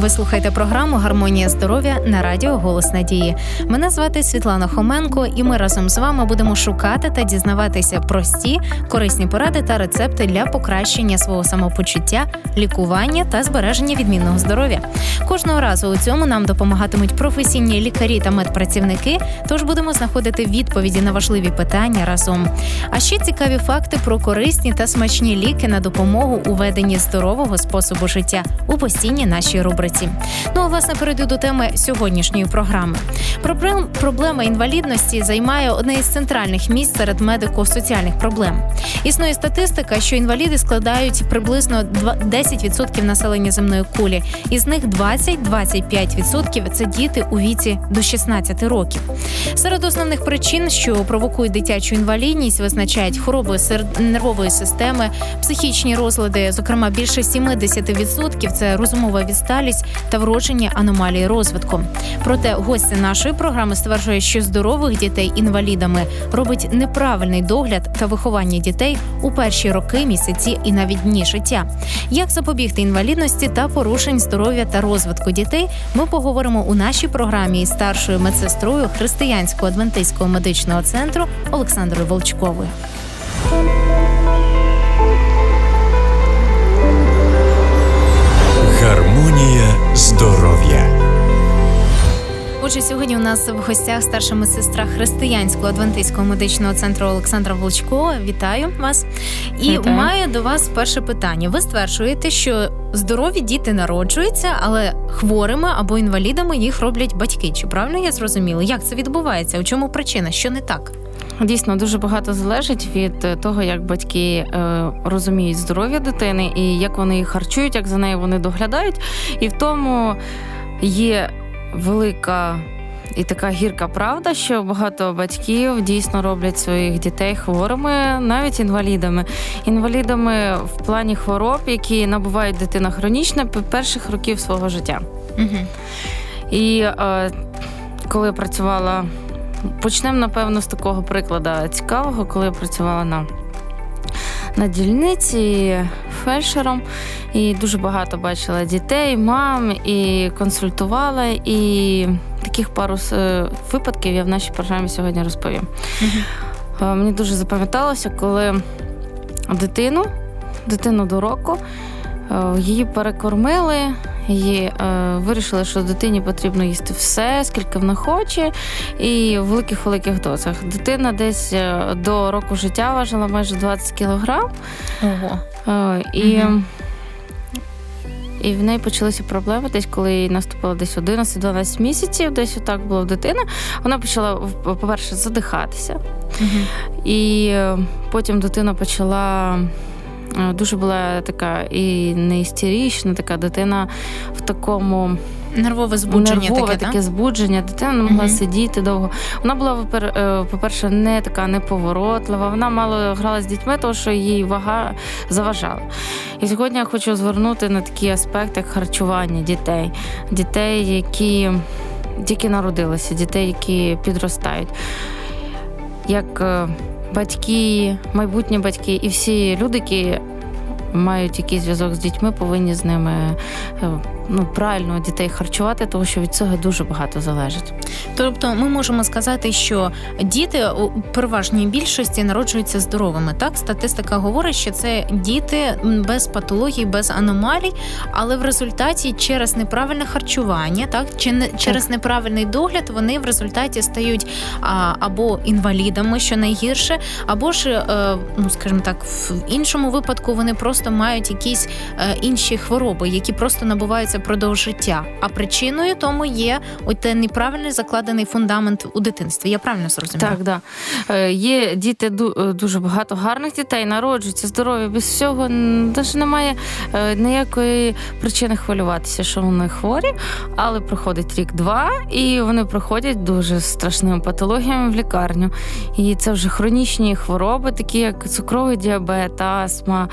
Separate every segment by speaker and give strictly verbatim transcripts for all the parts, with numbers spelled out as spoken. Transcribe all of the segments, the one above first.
Speaker 1: Ви слухаєте програму «Гармонія здоров'я» на радіо «Голос надії». Мене звати Світлана Хоменко, і ми разом з вами будемо шукати та дізнаватися прості, корисні поради та рецепти для покращення свого самопочуття, лікування та збереження відмінного здоров'я. Кожного разу у цьому нам допомагатимуть професійні лікарі та медпрацівники, тож будемо знаходити відповіді на важливі питання разом. А ще цікаві факти про корисні та смачні ліки на допомогу у веденні здорового способу життя у постійній нашій рубриці. Ну, а власне, перейду до теми сьогоднішньої програми. Проблем, проблема інвалідності займає одне із центральних місць серед медико-соціальних проблем. Існує статистика, що інваліди складають приблизно десять відсотків населення земної кулі. Із них двадцять-двадцять п'ять відсотків – це діти у віці до шістнадцяти років. Серед основних причин, що провокують дитячу інвалідність, визначають хвороби нервової системи, психічні розлади, зокрема більше сімдесят відсотків – це розумова відсталість та вроджені аномалії розвитку. Проте гостя нашої програми стверджує, що здорових дітей інвалідами робить неправильний догляд та виховання дітей у перші роки, місяці і навіть дні життя. Як запобігти інвалідності та порушень здоров'я та розвитку дітей, ми поговоримо у нашій програмі із старшою медсестрою Християнського адвентистського медичного центру Олександрою Волчковою.
Speaker 2: Гармонія здоров'я.
Speaker 1: Отже, сьогодні у нас в гостях старша медсестра Християнського адвентистського медичного центру Олександра Волчкова. Вітаю вас. І
Speaker 3: Вітаю.
Speaker 1: Маю до вас перше питання. Ви стверджуєте, що здорові діти народжуються, але хворими або інвалідами їх роблять батьки. Чи правильно я зрозуміла? Як це відбувається? У чому причина? Що не так?
Speaker 3: Дійсно, дуже багато залежить від того, як батьки е, розуміють здоров'я дитини і як вони її харчують, як за нею вони доглядають. І в тому є велика і така гірка правда, що багато батьків дійсно роблять своїх дітей хворими, навіть інвалідами. Інвалідами в плані хвороб, які набувають дитина хронічно перших років свого життя.
Speaker 1: Угу.
Speaker 3: І е, коли я працювала, почнемо, напевно, з такого прикладу цікавого, коли я працювала на, на дільниці фельдшером, і дуже багато бачила дітей, мам, і консультувала, і таких пару випадків я в нашій програмі сьогодні розповім. Mm-hmm. Мені дуже запам'яталося, коли дитину, дитину до року, її перекормили, її е, вирішили, що дитині потрібно їсти все, скільки вона хоче, і в великих-великих дозах. Дитина десь до року життя важила майже двадцять кілограм.
Speaker 1: Ого.
Speaker 3: Е, і,
Speaker 1: угу.
Speaker 3: і в неї почалися проблеми десь, коли їй наступило десь одинадцять-дванадцять місяців, десь отак була дитина. Вона почала, по-перше, задихатися. Угу. І потім дитина почала... Дуже була така і не істерична, така дитина в такому...
Speaker 1: Нервове збудження
Speaker 3: Нервове
Speaker 1: таке,
Speaker 3: таке збудження. Дитина не могла uh-huh. сидіти довго. Вона була, по-перше, не така неповоротлива. Вона мало грала з дітьми, тому що їй вага заважала. І сьогодні я хочу звернути на такі аспекти, як харчування дітей. Дітей, які тільки народилися, дітей, які підростають. Як батьки, майбутні батьки і всі люди, які мають якийсь зв'язок з дітьми, повинні з ними ну, правильно дітей харчувати, тому що від цього дуже багато залежить.
Speaker 1: Тобто ми можемо сказати, що діти у переважній більшості народжуються здоровими, так? Статистика говорить, що це діти без патологій, без аномалій, але в результаті через неправильне харчування, так? Чи не, через так. неправильний догляд вони в результаті стають а, або інвалідами, що найгірше, або ж, е, ну, скажімо так, в іншому випадку вони просто мають якісь е, інші хвороби, які просто набуваються продовж життя. А причиною тому є ось той неправильний закладений фундамент у дитинстві. Я правильно зрозуміла?
Speaker 3: Так, да. Є діти, дуже багато гарних дітей, народжуються здорові, без всього, навіть немає ніякої причини хвилюватися, що вони хворі, але проходить рік-два, і вони проходять дуже страшними патологіями в лікарню. І це вже хронічні хвороби, такі як цукровий діабет, астма,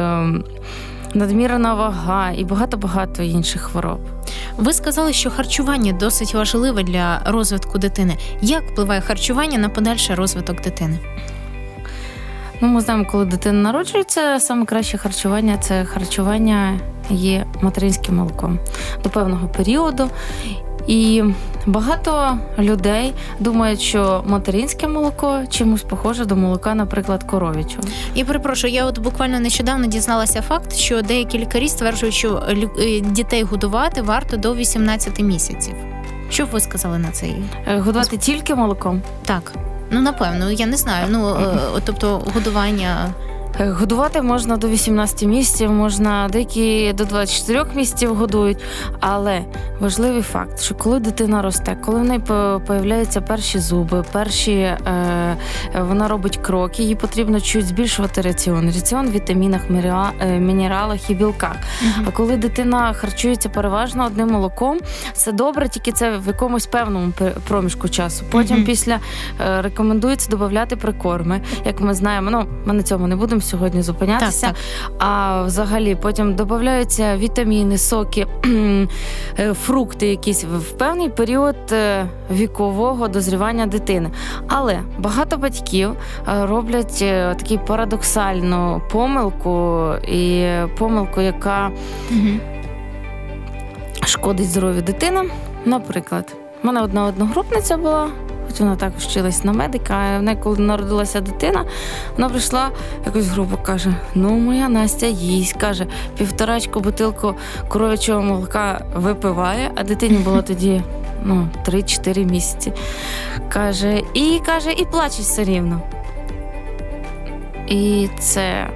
Speaker 3: надмірна вага і багато-багато інших хвороб.
Speaker 1: Ви сказали, що харчування досить важливе для розвитку дитини. Як впливає харчування на подальший розвиток дитини?
Speaker 3: Ну, ми знаємо, коли дитина народжується, саме краще харчування – це харчування є материнським молоком до певного періоду. І багато людей думають, що материнське молоко чимось похоже до молока, наприклад, коров'ячого.
Speaker 1: Я перепрошую, я от буквально нещодавно дізналася факт, що деякі лікарі стверджують, що дітей годувати варто до вісімнадцяти місяців. Що б ви сказали на це?
Speaker 3: Годувати тільки молоком?
Speaker 1: Так. Ну, напевно, я не знаю. Ну, тобто, годування...
Speaker 3: Годувати можна до вісімнадцяти місяців, можна деякі до двадцяти чотирьох місяців годують, але важливий факт, що коли дитина росте, коли в неї появляються перші зуби, перші, е, вона робить кроки, їй потрібно чуть збільшувати раціон. Раціон в вітамінах, мінералах і білках. Uh-huh. А коли дитина харчується переважно одним молоком, це добре, тільки це в якомусь певному проміжку часу. Потім uh-huh. після е, рекомендується додати прикорми. Як ми знаємо, ну, ми на цьому не будемо сьогодні зупинятися, так, так. А взагалі потім додаються вітаміни, соки, фрукти якісь в певний період вікового дозрівання дитини. Але багато батьків роблять таку парадоксальну помилку, і помилку, яка угу. шкодить здоров'ю дитини. Наприклад, в мене одна одногрупниця була, хоч вона також вчилась на медика, а в неї, коли народилася дитина, вона прийшла якось грубо, каже, ну, моя Настя їсть, каже, півторачку бутилку коров'ячого молока випиває, а дитині було тоді, ну, три-чотири місяці. Каже, і, каже, і плаче все рівно. І це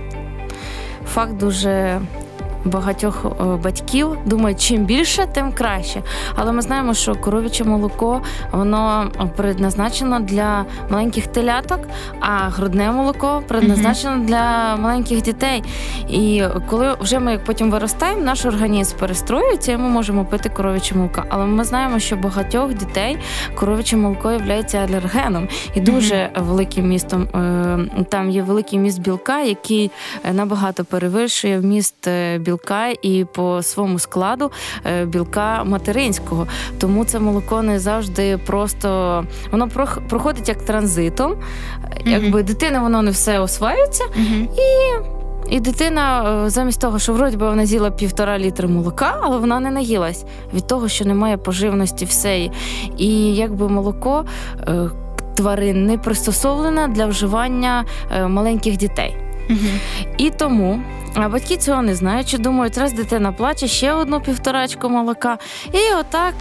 Speaker 3: факт дуже... багатьох батьків думають, чим більше, тим краще. Але ми знаємо, що коров'яче молоко, воно предназначено для маленьких теляток, а грудне молоко предназначено mm-hmm. для маленьких дітей. І коли вже ми потім виростаємо, наш організм перестроюється, і ми можемо пити коров'яче молоко. Але ми знаємо, що багатьох дітей коров'яче молоко є алергеном. І дуже mm-hmm. великим містом, там є великий міст білка, який набагато перевищує вміст білка білка і по своєму складу білка материнського. Тому це молоко не завжди просто... Воно проходить як транзитом. Mm-hmm. Якби дитина, воно не все осваюється. Mm-hmm. І... І дитина, замість того, що вроді би вона з'їла півтора літри молока, але вона не наїлась від того, що немає поживності всеї. І якби молоко тварин не пристосовлене для вживання маленьких дітей. Mm-hmm. І тому а батьки цього не знають, чи думають, раз дитина плаче, ще одну півторачку молока. І отак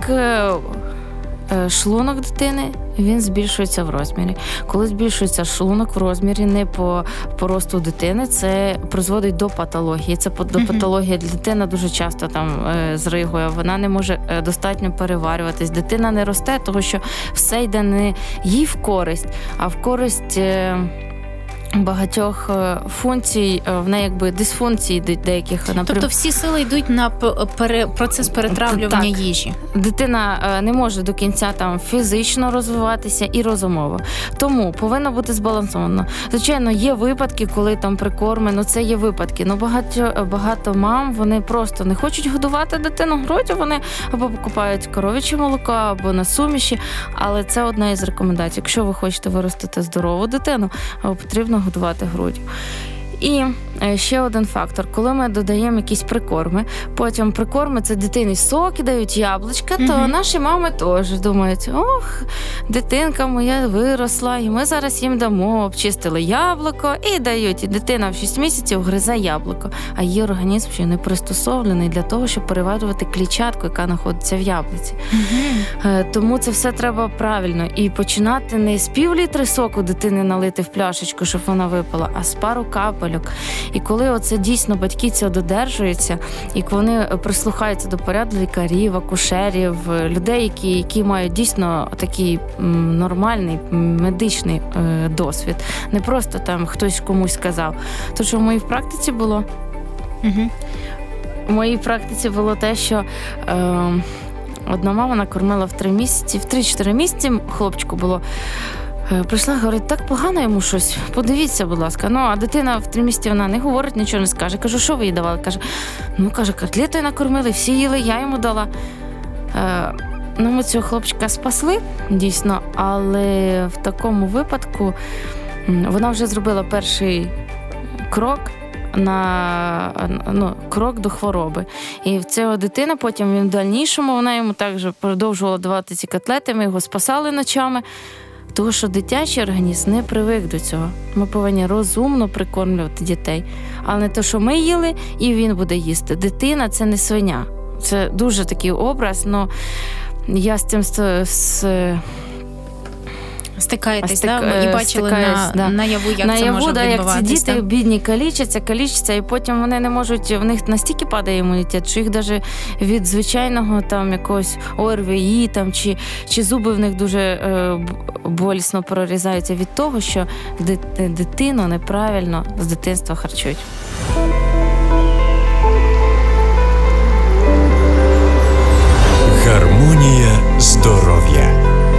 Speaker 3: шлунок дитини, він збільшується в розмірі. Коли збільшується шлунок в розмірі не по, по росту дитини, це призводить до патології. Це до mm-hmm. патології дитина дуже часто там е, зригує, вона не може е, достатньо переварюватись. Дитина не росте, тому що все йде не їй в користь, а в користь... Е, багатьох функцій, в неї якби дисфункції деяких. Наприклад.
Speaker 1: Тобто всі сили йдуть на пере... процес перетравлювання
Speaker 3: так.
Speaker 1: їжі.
Speaker 3: Дитина не може до кінця там фізично розвиватися і розумово. Тому повинно бути збалансовано. Звичайно, є випадки, коли там прикорми, ну це є випадки. Ну багато, багато мам, вони просто не хочуть годувати дитину груддю, вони або покупають коров'яче молоко, або на суміші, але це одна із рекомендацій. Якщо ви хочете виростити здорову дитину, потрібно годувати груддю. І ще один фактор. Коли ми додаємо якісь прикорми, потім прикорми – це дитині соки, дають яблучка, то mm-hmm. наші мами теж думають, ох, дитинка моя виросла, і ми зараз їм дамо, обчистили яблуко і дають. І дитина в шість місяців гризе яблуко. А її організм ще не пристосований для того, щоб переварювати клітчатку, яка знаходиться в яблуці. Mm-hmm. Тому це все треба правильно. І починати не з пів літри соку дитини налити в пляшечку, щоб вона випила, а з пару капель. І коли оце дійсно батьки цього додержуються, і вони прислухаються до поряду лікарів, акушерів, людей, які, які мають дійсно такий м, нормальний медичний е, досвід, не просто там хтось комусь сказав. То, що в моїй практиці було, угу. в моїй практиці було те, що е, одна мама накормила в три місяці, в три-чотири місяці хлопчику було. Прийшла, говорить, так погано йому щось, подивіться, будь ласка. Ну, а дитина в три місяці, вона не говорить, нічого не скаже. Кажу, що ви їй давали? Каже, ну, каже, котлетою накормили, всі їли, я йому дала. Е, ну, ми цього хлопчика спасли, дійсно, але в такому випадку вона вже зробила перший крок, на ну, крок до хвороби. І в цього дитина потім він в дальнішому, вона йому також продовжувала давати ці котлети, ми його спасали ночами, тому що дитячий організм не привик до цього. Ми повинні розумно прикормлювати дітей. Але не те, що ми їли, і він буде їсти. Дитина – це не свиня. Це дуже такий образ, але я з цим з...
Speaker 1: Стикаєтесь,
Speaker 3: Стик...
Speaker 1: да? Ми і бачили на,
Speaker 3: да.
Speaker 1: наяву, як
Speaker 3: наяву,
Speaker 1: це може
Speaker 3: да,
Speaker 1: відбуватися.
Speaker 3: Як ці діти так? бідні калічаться, калічаться, і потім вони не можуть, в них настільки падає імунітет, що їх навіть від звичайного там якогось ОРВІ там, чи, чи зуби в них дуже е, болісно прорізаються від того, що дитину неправильно з дитинства харчують.
Speaker 2: Гармонія здоров'я.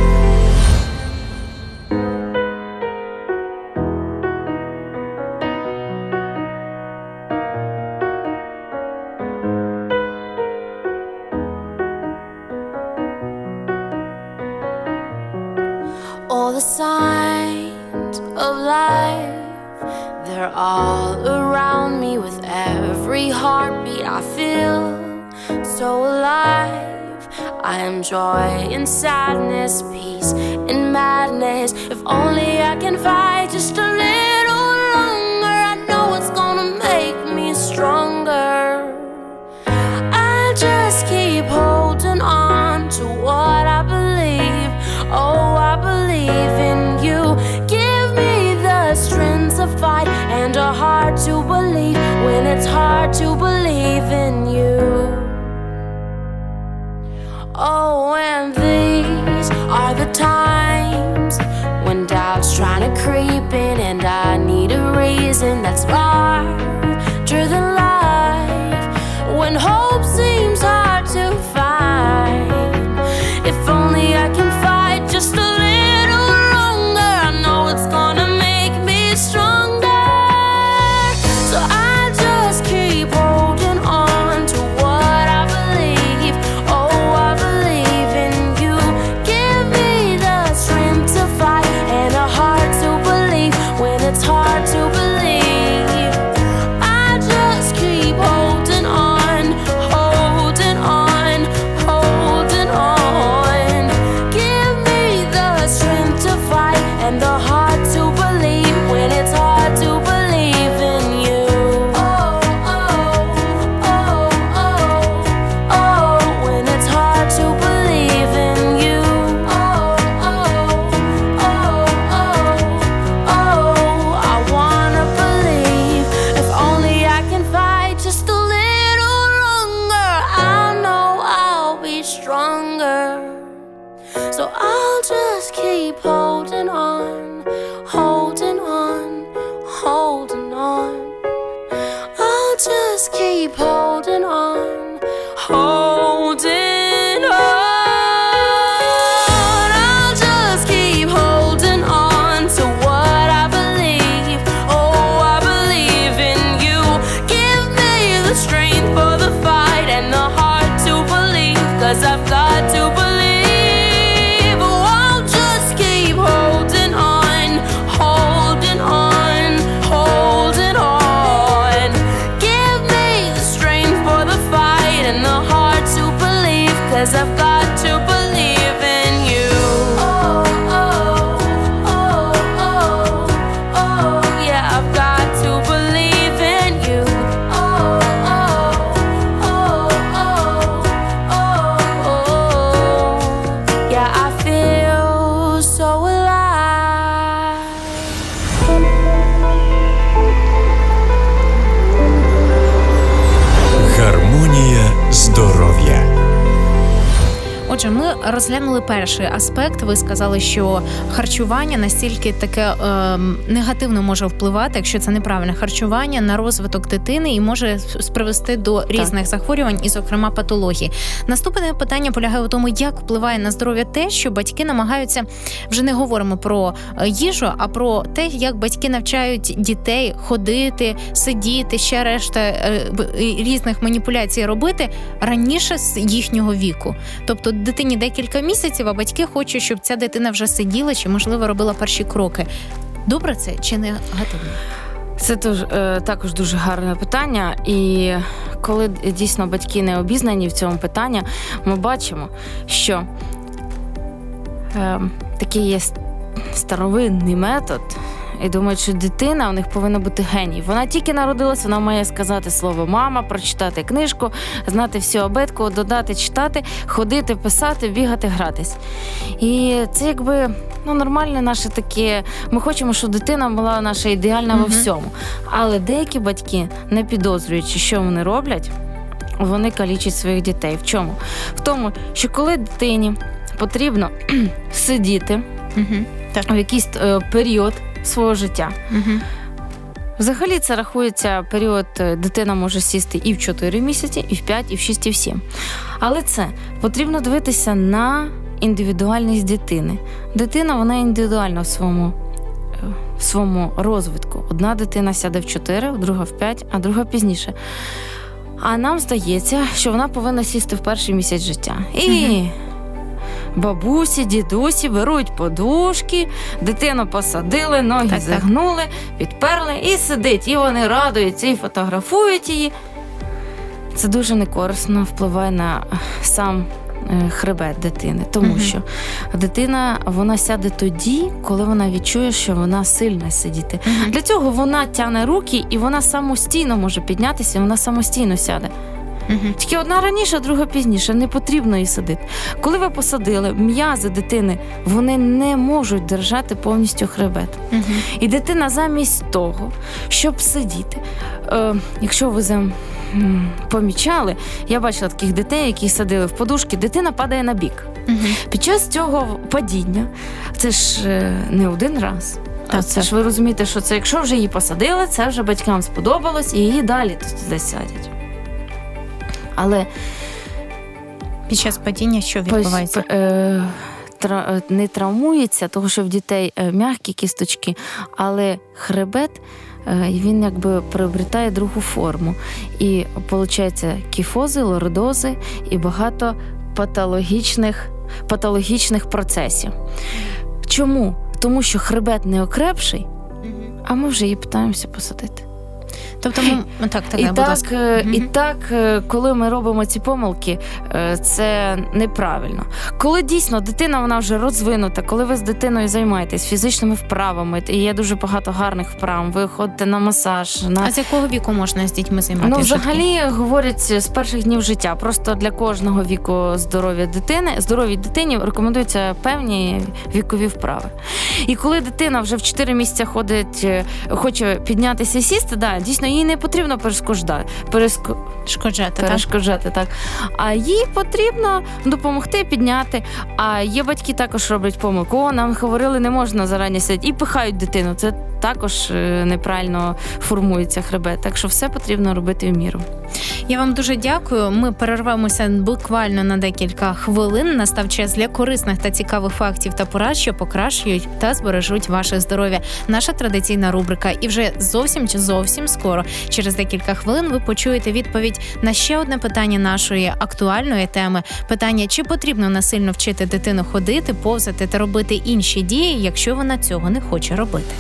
Speaker 4: All the signs of life, they're all around me. With every heartbeat I feel so alive. I am joy and sadness, peace and madness. If only I can fight just a little longer, I know it's gonna make me stronger. I just keep holding on to what I believe. Oh, I believe in you. Give me the strength to fight and a heart to believe when it's hard to believe in you. Oh, and these are the times when doubt's trying to creep in, and I need a reason that's larger than life. When hope seems hard to find, if only I can fight just a little longer, I know it's gonna make me stronger. So I just keep holding on to what I believe. Oh, I believe in you. Give me the strength to fight and a heart to believe when it's hard to believe. I just keep holding on, holding on, holding on. Give me the strength to fight and the heart to believe when it's hard to believe in you. Oh, oh, oh, oh, oh, when it's hard to believe in you. Oh, oh, oh, oh, oh, I wanna believe. If only I can fight just a little longer, I know I'll be stronger. So I'll just keep holding on, holding on, holding on. I'll just keep holding on, holding on. I'll just keep holding on to what I believe. Oh, I believe in you. Give me the strength for the fight and the heart to believe, 'cause I've got to believe. Oh, I'll just keep holding on, holding on, holding on. Give me the strength for the fight and the heart to believe, 'cause I've got to believe in you. Oh, oh, oh, oh, oh, yeah, I've got to believe in you. Oh, oh, oh, oh, oh, oh, yeah, I feel so alive.
Speaker 2: Гармонія здоров'я.
Speaker 1: Отже, ми розглянули перший аспект. Ви сказали, що харчування настільки таке е, негативно може впливати, якщо це неправильне харчування, на розвиток дитини і може привести до різних так. захворювань, і, зокрема, патологій. Наступне питання полягає у тому, як впливає на здоров'я те, що батьки намагаються, вже не говоримо про їжу, а про те, як батьки навчають дітей ходити, сидіти, ще решта е, різних маніпуляцій робити раніше з їхнього віку. Тобто дитині декілька місяців, а батьки хочуть, щоб ця дитина вже сиділа чи, можливо, робила перші кроки. Добре це чи негативно?
Speaker 3: Це дуже, також дуже гарне питання. І коли дійсно батьки не обізнані в цьому питанні, ми бачимо, що е, такий є старовинний метод, і думають, що дитина, у них повинна бути геній. Вона тільки народилась, вона має сказати слово «мама», прочитати книжку, знати всю абетку, додати, читати, ходити, писати, бігати, гратись. І це якби ну, нормальне наше таке. Ми хочемо, щоб дитина була наша ідеальна во всьому. Але деякі батьки, не підозрюючи, що вони роблять, вони калічать своїх дітей. В чому? В тому, що коли дитині потрібно сидіти в якийсь е, період свого життя. Угу. Взагалі це рахується період, дитина може сісти і в чотири місяці, і в п'ять, і в шість, і в сім. Але це потрібно дивитися на індивідуальність дитини. Дитина, вона індивідуальна в своєму, в своєму розвитку. Одна дитина сяде в чотири, друга в п'ять, а друга пізніше. А нам здається, що вона повинна сісти в перший місяць життя. І... Угу. Бабусі, дідусі беруть подушки, дитину посадили, ноги так, загнули, так. підперли і сидить. І вони радуються, і фотографують її. Це дуже некорисно впливає на сам хребет дитини. Тому угу. що дитина, вона сяде тоді, коли вона відчує, що вона сильна сидіти. Угу. Для цього вона тягне руки, і вона самостійно може піднятися, і вона самостійно сяде. Uh-huh. Тільки одна раніше, а друга пізніше. Не потрібно її садити. Коли ви посадили, м'язи дитини, вони не можуть держати повністю хребет. Uh-huh. І дитина замість того, щоб сидіти, е, якщо ви за, м, помічали, я бачила таких дітей, які садили в подушки, дитина падає на бік. Uh-huh. Під час цього падіння, це ж е, не один раз. Так, це так. ж ви розумієте, що це якщо вже її посадили, це вже батькам сподобалось, і її далі туди сядять. Але
Speaker 1: під час падіння що відбувається?
Speaker 3: Е, тра, не травмується, тому що в дітей м'які кісточки, але хребет, е, він якби приобретає другу форму. І виходить кіфози, лордози і багато патологічних, патологічних процесів. Чому? Тому що хребет не окрепший, а ми вже її питаємося посадити.
Speaker 1: Тобто ми... так, так,
Speaker 3: і,
Speaker 1: будь
Speaker 3: так,
Speaker 1: ласка.
Speaker 3: і так, коли ми робимо ці помилки, це неправильно. Коли дійсно дитина, вона вже розвинута, коли ви з дитиною займаєтесь фізичними вправами, і є дуже багато гарних вправ, ви ходите на масаж. На...
Speaker 1: А з якого віку можна з дітьми займатися?
Speaker 3: Ну, взагалі, говорять, з перших днів життя. Просто для кожного віку здоров'я дитини, здоровій дитині рекомендуються певні вікові вправи. І коли дитина вже в чотири місяці ходить, хоче піднятися і сісти, да, дійсно, їй не потрібно перешкоджати, переско... перешкоджати, так. А їй потрібно допомогти підняти. А є батьки також роблять помилку. О, нам говорили, не можна зарані сидіти. І пихають дитину. Це також неправильно формується хребет. Так що все потрібно робити в міру.
Speaker 1: Я вам дуже дякую. Ми перервемося буквально на декілька хвилин. Настав час для корисних та цікавих фактів та порад, що покращують та збережуть ваше здоров'я. Наша традиційна рубрика. І вже зовсім чи зовсім скоро, через декілька хвилин, ви почуєте відповідь на ще одне питання нашої актуальної теми. Питання, чи потрібно насильно вчити дитину ходити, повзати та робити інші дії, якщо вона цього не хоче робити.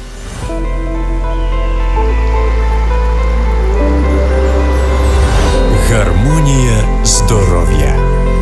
Speaker 2: Гармонія здоров'я.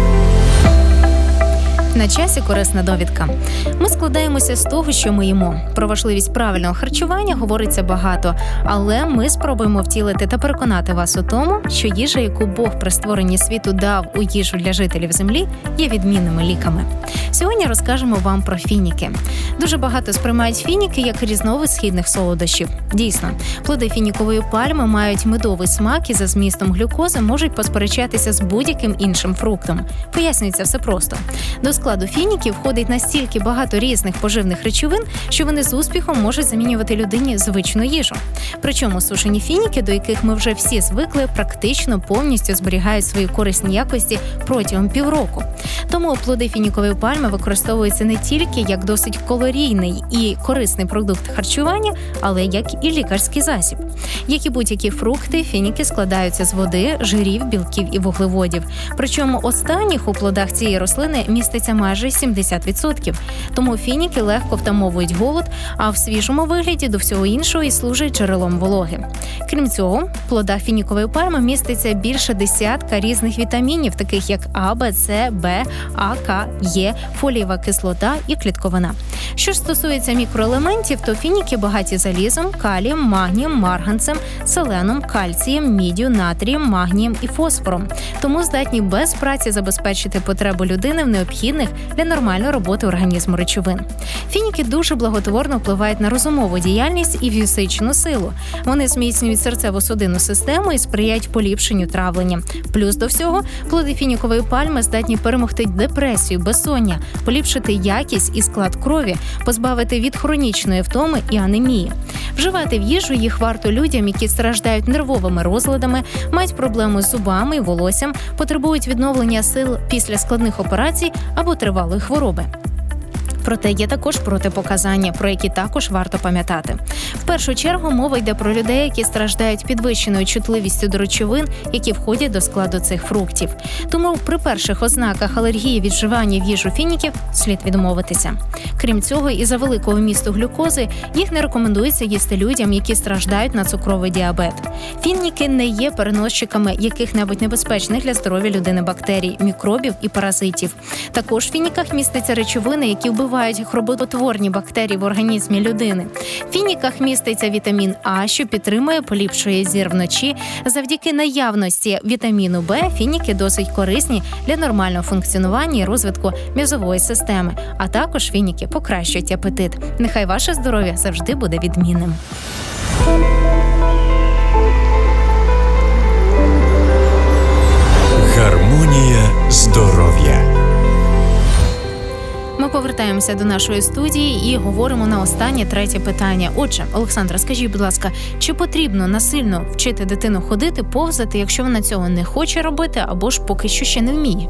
Speaker 1: На часі корисна довідка. Ми складаємося з того, що ми їмо. Про важливість правильного харчування говориться багато, але ми спробуємо втілити та переконати вас у тому, що їжа, яку Бог при створенні світу дав у їжу для жителів землі, є відмінними ліками. Сьогодні розкажемо вам про фініки. Дуже багато сприймають фініки як різновид східних солодощів. Дійсно, плоди фінікової пальми мають медовий смак і за змістом глюкози можуть посперечатися з будь-яким іншим фруктом. Пояснюється все просто. До складу фініків входить настільки багато різних поживних речовин, що вони з успіхом можуть замінювати людині звичну їжу. Причому сушені фініки, до яких ми вже всі звикли, практично повністю зберігають свої корисні якості протягом півроку. Тому плоди фінікової пальми використовуються не тільки як досить калорійний і корисний продукт харчування, але як і лікарський засіб. Як і будь-які фрукти, фініки складаються з води, жирів, білків і вуглеводів. Причому останніх у плодах цієї рослини міститься вимірюється майже сімдесят відсотків. Тому фініки легко втамовують голод, а в свіжому вигляді до всього іншого і служать джерелом вологи. Крім цього, в плодах фінікової пальми міститься більше десятка різних вітамінів, таких як А, Б, С, Б, А, К, Е, фолієва кислота і клітковина. Що ж стосується мікроелементів, то фініки багаті залізом, калієм, магнієм, марганцем, селеном, кальцієм, міддю, натрієм, магнієм і фосфором. Тому здатні без праці забезпечити потребу людини в необхідних для нормальної роботи організму речовин. Фініки дуже благотворно впливають на розумову діяльність і фізичну силу. Вони зміцнюють серцево-судинну систему і сприяють поліпшенню травлення. Плюс до всього, плоди фінікової пальми здатні перемогти депресію, безсоння, поліпшити якість і склад крові, позбавити від хронічної втоми і анемії. Вживати в їжу їх варто людям, які страждають нервовими розладами, мають проблеми з зубами і волоссям, потребують відновлення сил після складних операцій або тривалої хвороби. Проте є також протипоказання, про які також варто пам'ятати. В першу чергу мова йде про людей, які страждають підвищеною чутливістю до речовин, які входять до складу цих фруктів. Тому при перших ознаках алергії від вживання в їжу фініків слід відмовитися. Крім цього, із-за великого вмісту глюкози їх не рекомендується їсти людям, які страждають на цукровий діабет. Фініки не є переносчиками яких-небудь небезпечних для здоров'я людини бактерій, мікробів і паразитів. Також в фініках містяться речовини, які вбивають хвороботворні бактерії в організмі людини. В фініках міститься вітамін А, що підтримує, поліпшує зір вночі. Завдяки наявності вітаміну Б фініки досить корисні для нормального функціонування і розвитку м'язової системи. А також фініки покращують апетит. Нехай ваше здоров'я завжди буде відмінним.
Speaker 2: Гармонія здоров'я.
Speaker 1: Ми повертаємося до нашої студії і говоримо на останнє, третє питання. Отже, Олександра, скажіть, будь ласка, чи потрібно насильно вчити дитину ходити, повзати, якщо вона цього не хоче робити або ж поки що ще не вміє?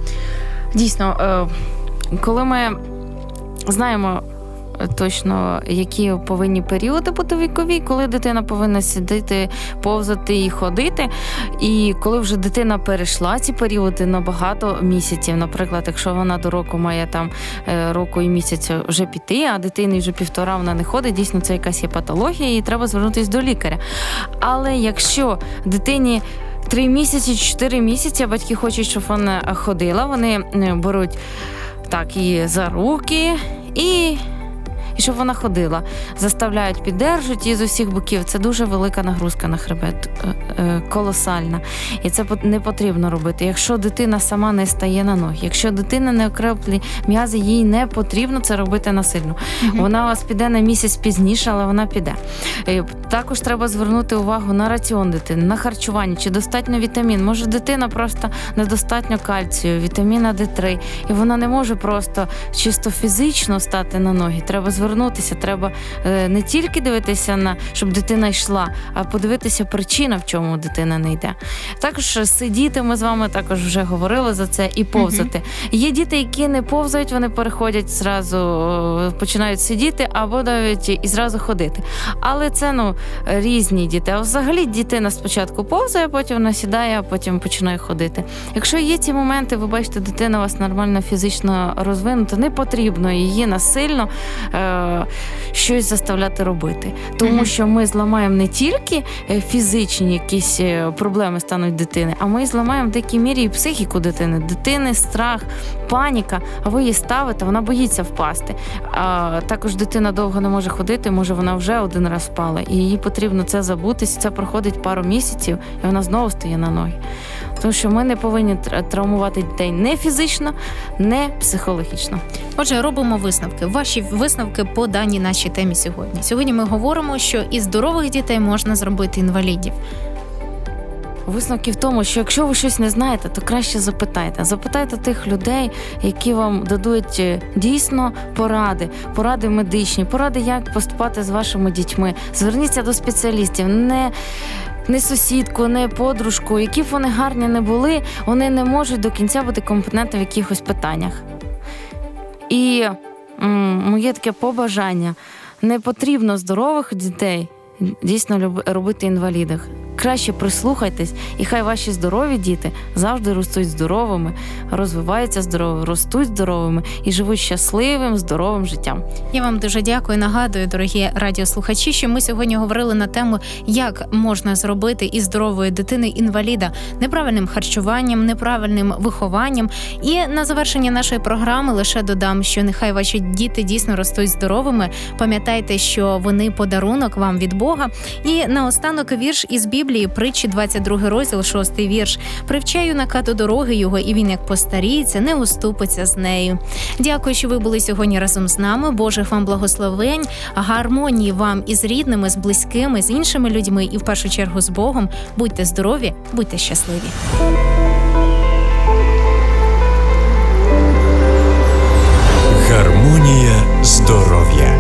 Speaker 3: Дійсно, коли ми знаємо точно, які повинні періоди бути вікові, коли дитина повинна сидіти, повзати і ходити. І коли вже дитина перейшла ці періоди на багато місяців, наприклад, якщо вона до року має там року і місяця вже піти, а дитині вже півтора вона не ходить, дійсно це якась є патологія і треба звернутися до лікаря. Але якщо дитині три місяці, чотири місяці, батьки хочуть, щоб вона ходила, вони беруть так її за руки і І щоб вона ходила, заставляють, піддержують її з усіх боків. Це дуже велика нагрузка на хребет, колосальна. І це не потрібно робити. Якщо дитина сама не стає на ноги, якщо дитина не окреплює м'язи, їй не потрібно це робити насильно. Угу. Вона у вас піде на місяць пізніше, але вона піде. Також треба звернути увагу на раціон дитини, на харчування, чи достатньо вітамін. Може дитина просто недостатньо кальцію, вітаміна Д три, і вона не може просто чисто фізично стати на ноги. Треба звернути Звернутися, треба не тільки дивитися на, щоб дитина йшла, а подивитися причина, в чому дитина не йде. Також сидіти, ми з вами також вже говорили за це, і повзати. Uh-huh. Є діти, які не повзають, вони переходять зразу, починають сидіти або навіть і зразу ходити. Але це, ну, різні діти. А взагалі дитина спочатку повзає, потім вона сідає, а потім починає ходити. Якщо є ці моменти, ви бачите, дитина у вас нормально фізично розвинута, не потрібно її насильно щось заставляти робити. Тому mm-hmm. що ми зламаємо не тільки фізичні якісь проблеми стануть дитини, а ми зламаємо в деякій мірі і психіку дитини. Дитини страх, паніка, а ви її ставите, вона боїться впасти. А також дитина довго не може ходити, може вона вже один раз впала, і їй потрібно це забутися, це проходить пару місяців, і вона знову стає на ноги. Тому що ми не повинні травмувати дітей не фізично, не психологічно.
Speaker 1: Отже, робимо висновки. Ваші висновки по даній нашій темі сьогодні. Сьогодні ми говоримо, що із здорових дітей можна зробити інвалідів.
Speaker 3: Висновки в тому, що якщо ви щось не знаєте, то краще запитайте. Запитайте тих людей, які вам дадуть дійсно поради, поради медичні, поради, як поступати з вашими дітьми. Зверніться до спеціалістів, не... Не сусідку, не подружку, які б вони гарні не були, вони не можуть до кінця бути компетентними в якихось питаннях. І м- моє таке побажання, не потрібно здорових дітей дійсно люб- робити інвалідах. краще прислухайтесь, і хай ваші здорові діти завжди ростуть здоровими, розвиваються здоровими, ростуть здоровими і живуть щасливим, здоровим життям.
Speaker 1: Я вам дуже дякую. Нагадую, дорогі радіослухачі, що ми сьогодні говорили на тему, як можна зробити із здорової дитини інваліда неправильним харчуванням, неправильним вихованням. І на завершення нашої програми лише додам, що нехай ваші діти дійсно ростуть здоровими. Пам'ятайте, що вони подарунок вам від Бога. І наостанок вірш із Біблії, Притчі, двадцять другий розділ, шостий вірш. «Привчай юнака до дороги його, і він, як постаріється, не уступиться з нею». Дякую, що ви були сьогодні разом з нами. Божих вам благословень, гармонії вам із рідними, з близькими, з іншими людьми і в першу чергу з Богом. Будьте здорові, будьте щасливі.
Speaker 2: Гармонія здоров'я.